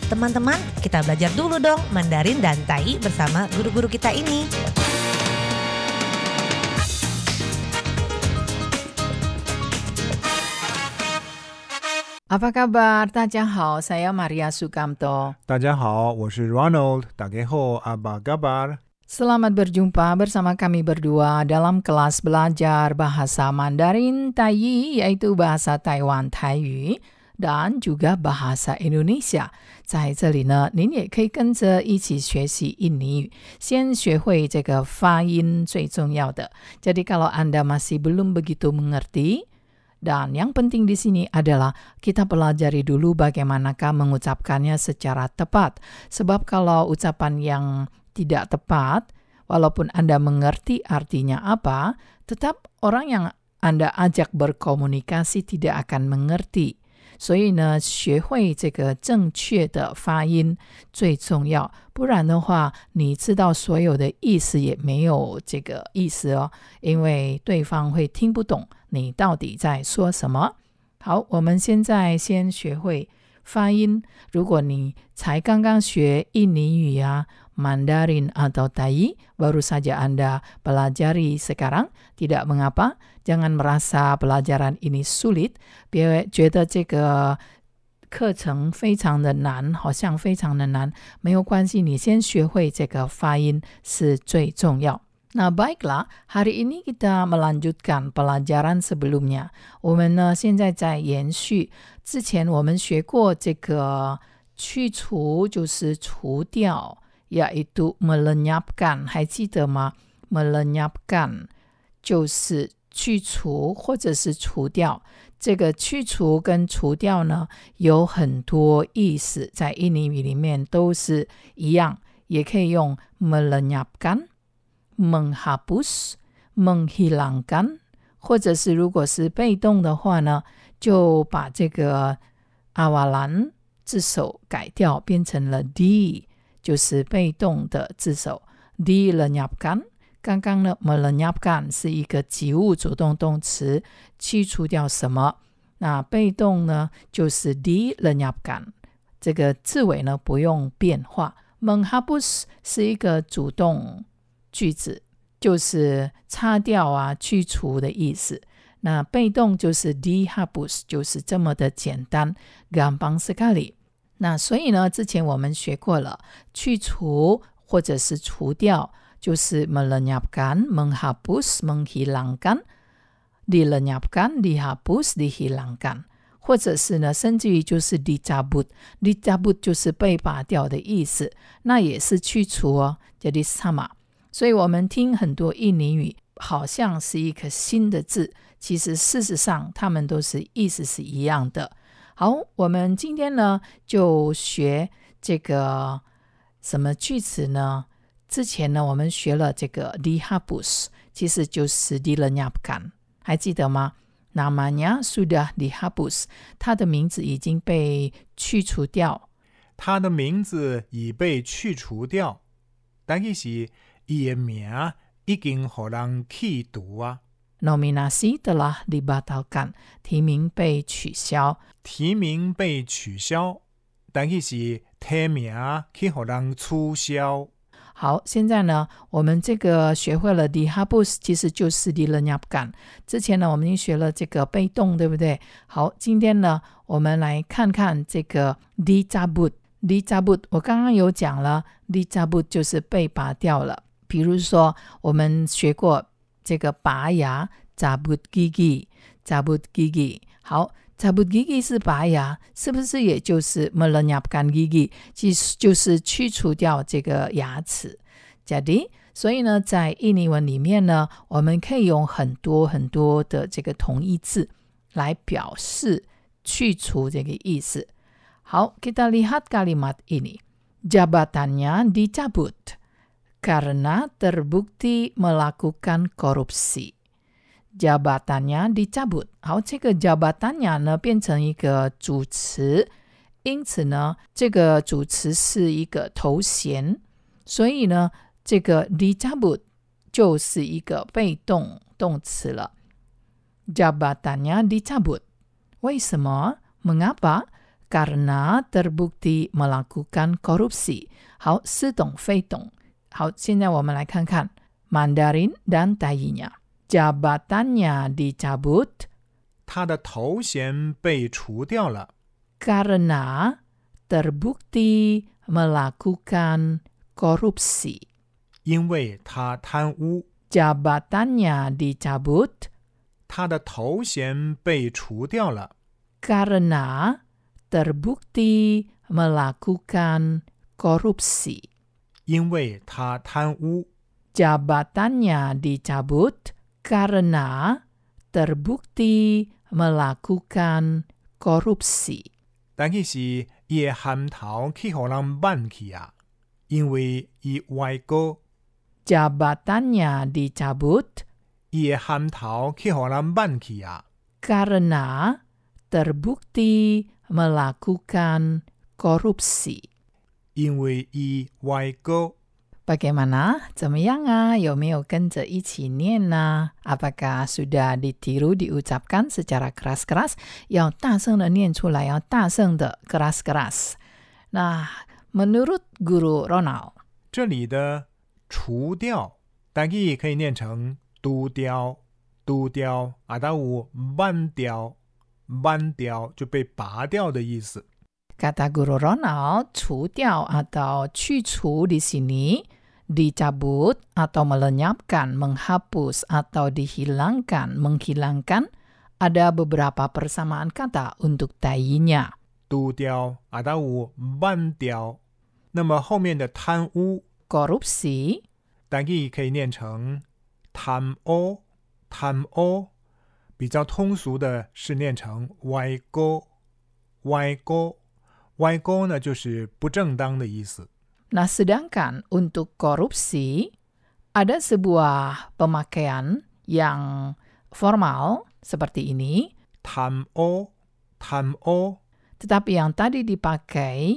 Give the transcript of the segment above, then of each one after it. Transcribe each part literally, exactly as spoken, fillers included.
Teman-teman, kita belajar dulu dong Mandarin dan Tai bersama guru-guru kita ini. Apa kabar? 大家好, saya Maria Sukamto. 大家好，我是 Ronald. 大家好, apa kabar? Selamat berjumpa bersama kami berdua dalam kelas belajar bahasa Mandarin Tai, yaitu bahasa Taiwan 台语 dan juga bahasa Indonesia. 在这里呢，您也可以跟着一起学习印尼语，先学会这个发音最重要的。Jadi kalau Anda masih belum begitu mengerti, dan yang penting di sini adalah kita pelajari dulu bagaimanakah mengucapkannya secara tepat. Sebab kalau ucapan yang tidak tepat, walaupun Anda mengerti artinya apa, tetap orang yang Anda ajak berkomunikasi tidak akan mengerti. 所以呢，学会这个正确的发音最重要，不然的话，你知道所有的意思也没有这个意思哦，因為對方會聽不懂你到底在說什麼。好，我們現在先學會發音。如果你才剛剛學印尼語啊Mandarin atau Tai, baru saja Anda pelajari sekarang, tidak mengapa, jangan merasa pelajaran ini sulit, 別覺得這個課程非常的難，好像非常的難，沒有關係，你先學會這個發音是最重要。Nah baiklah, hari ini kita melanjutkan pelajaran sebelumnya. 我們呢現在在延續之前我們學過這個去除，就是除掉，yaitu melenyapkan, 還記得嗎？ melenyapkan 就是去除或者是除掉。這個去除跟除掉呢，有很多意思，在印尼語裡面都是一樣，也可以用 melenyapkan, menghapus, menghilangkan， 或者是如果是被動的話呢，就把這個 awalan 字首改掉，變成了 di，就是被動的字首 dilenyapkan。 剛剛呢 melenyapkan 是一個及物主動動詞，去除掉什麼，那被動呢就是 dilenyapkan， 這個字尾呢不用變化。 menghapus 是一個主動句子，就是擦掉啊去除的意思，那被動就是 dihapus， 就是這麼的簡單 gampang sekali。那所以呢，之前我們學過了，去除或者是除掉，就是 melenyapkan, menghapus, menghilangkan, dilenyapkan, dihapus, dihilangkan， 或者是呢，甚至於就是 dicabut, dicabut 就是被拔掉的意思，那也是去除哦，jadi sama。所以我們聽很多印尼語，好像是一個新的字，其實事實上它們都是意思是一樣的。好，我們今天呢就學這個什麼句子呢？之前呢我們學了這個 dihapus， 其實就是 dilenyapkan， 還記得嗎？ namanya sudah dihapus， 它的名字已經被去除掉。 它的名字已被去除掉，但是它的名已經被人去除啊。 Nominasi telah dibatalkan， 提名被取消。 提名被取消，但是提名去給人取消。 好，現在呢，我們這個學會了 dihapus， 其實就是 dilenyapkan。之前呢，我們已經學了這個被動，對不對？好，今天呢，我們來看看這個 dicabut。dicabut， 我剛剛有講了 ，dicabut 就是被拔掉了。比如說，我們學過這個拔牙 cabut gigi cabut gigi， 好 cabut gigi 是拔牙，是不是也就是 melenyapkan gigi， 其實就是去除掉這個牙齒。jadi， 所以呢在印尼文裡面呢，我們可以用很多很多的這個同義字來表示去除這個意思。好，kita lihat kalimat ini， jabatannya dicabut karena terbukti melakukan korupsi。 jabatannya dicabut。 好，這個 jabatannya 呢變成一個主詞，因此呢這個主詞是一個頭銜，所以呢這個 dicabut 就是一個被動動詞了。 jabatannya dicabut。 為什麼？ mengapa？ karena terbukti melakukan korupsi. 好，似懂非懂。好，现在我们来看看 Mandarin dan Taiyinya. Jabatannya dicabut. 他的头衔被除掉了。 Karena terbukti melakukan korupsi. 因为他贪污。 Jabatannya dicabut. 他的头衔被除掉了。 Karena terbukti melakukan korupsi. 因为他贪污。 Jabatannya dicabut karena terbukti melakukan korupsi. 但其實伊的銜頭去予人挽去啊，因為伊歪過。 Jabatannya dicabut. 伊的銜頭去予人挽去啊， karena terbukti melakukan korupsi. 因為伊歪過。 Bagaimana? 怎麼樣啊？有沒有跟着一起念呢？ Apakah sudah ditiru diucapkan secara keras-keras? 要大聲的念出來，要大聲的 keras-keras. Nah, menurut Guru Ronald, 這裡的除掉，台語可以念成除掉，除掉，啊，它有挽掉，挽掉就被拔掉的意思。 Kata Guru Ronald, 除掉 atau 去除 di sini dicabut atau melenyapkan, menghapus atau dihilangkan, menghilangkan, ada beberapa persamaan kata untuk Taiyinya. 除掉，啊，它有挽掉。那麼後面的貪污 korupsi 台語可以念成貪污，貪污，比較通俗的是念成歪過，歪過。 歪過呢，就是不正當的意思。 Nah, sedangkan untuk korupsi ada sebuah pemakaian yang formal seperti ini. 貪污，貪污。 Tetapi yang tadi dipakai,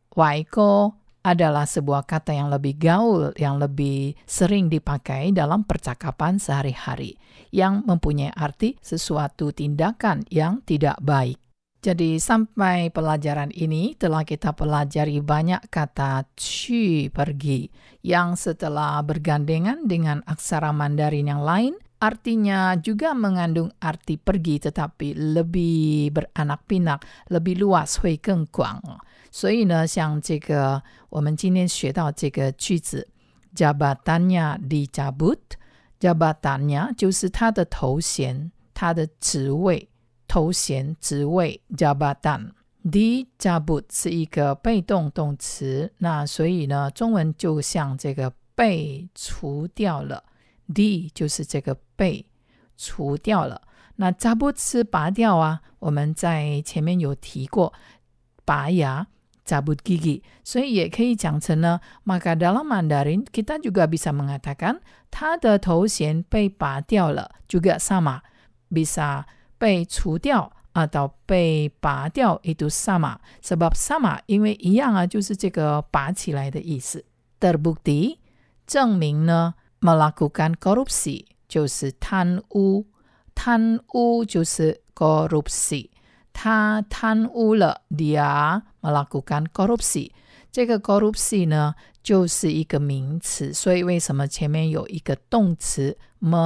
waiko, adalah sebuah kata yang lebih gaul, yang lebih sering dipakai dalam percakapan sehari-hari, yang mempunyai arti sesuatu tindakan yang tidak baik. Jadi sampai pelajaran ini telah kita pelajari banyak kata ci, pergi, yang setelah bergandengan dengan aksara Mandarin yang lain, artinya juga mengandung arti pergi tetapi lebih beranak pinak, lebih luas, 会更广。所以呢，像这个我们今天学到这个句子 jabatannya dicabut, jabatannya 就是他的头衔，他的職位。 頭銜職位 jabatan dicabut 是一個被動動詞，那所以呢，中文就像這個被除掉了 di 就是這個被除掉了，那 cabut 是拔掉啊，我們在前面有提過拔牙 cabut gigi， 所以也可以講成呢 maka dalam Mandarin kita juga bisa mengatakan 他的頭銜被拔掉了 juga sama bisa被除掉 atau 被拔掉 itu sama. Sebab sama 因為一樣啊，就是這個拔起來的意思。Terbukti 證明呢 melakukan korupsi 就是貪污，貪污就是 korupsi。他貪污了 dia melakukan korupsi。這個 korupsi 呢就是一個名詞，所以為什麼前面有一個動詞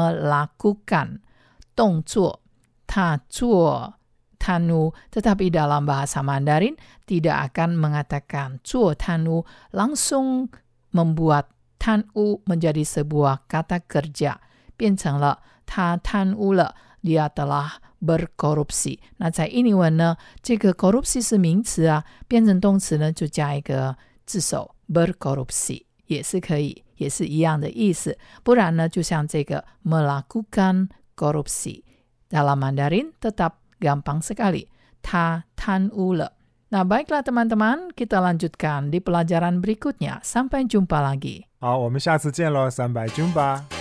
melakukan 動作？ 他做貪污, tetapi dalam bahasa Mandarin tidak akan mengatakan 做貪污, langsung membuat 貪污 menjadi sebuah kata kerja, 变成了他貪污了, dia telah berkorupsi. 那在印尼文呢，這個 korupsi 是名詞啊，變成動詞呢就加一個字首 berkorupsi 也是可以，也是一樣的意思。不然呢，就像這個 melakukan korupsi dalam Mandarin tetap gampang sekali. 他貪污了. Nah, baiklah teman-teman, kita lanjutkan di pelajaran berikutnya. Sampai jumpa lagi. 好，我們下次見咯，三百jumpa。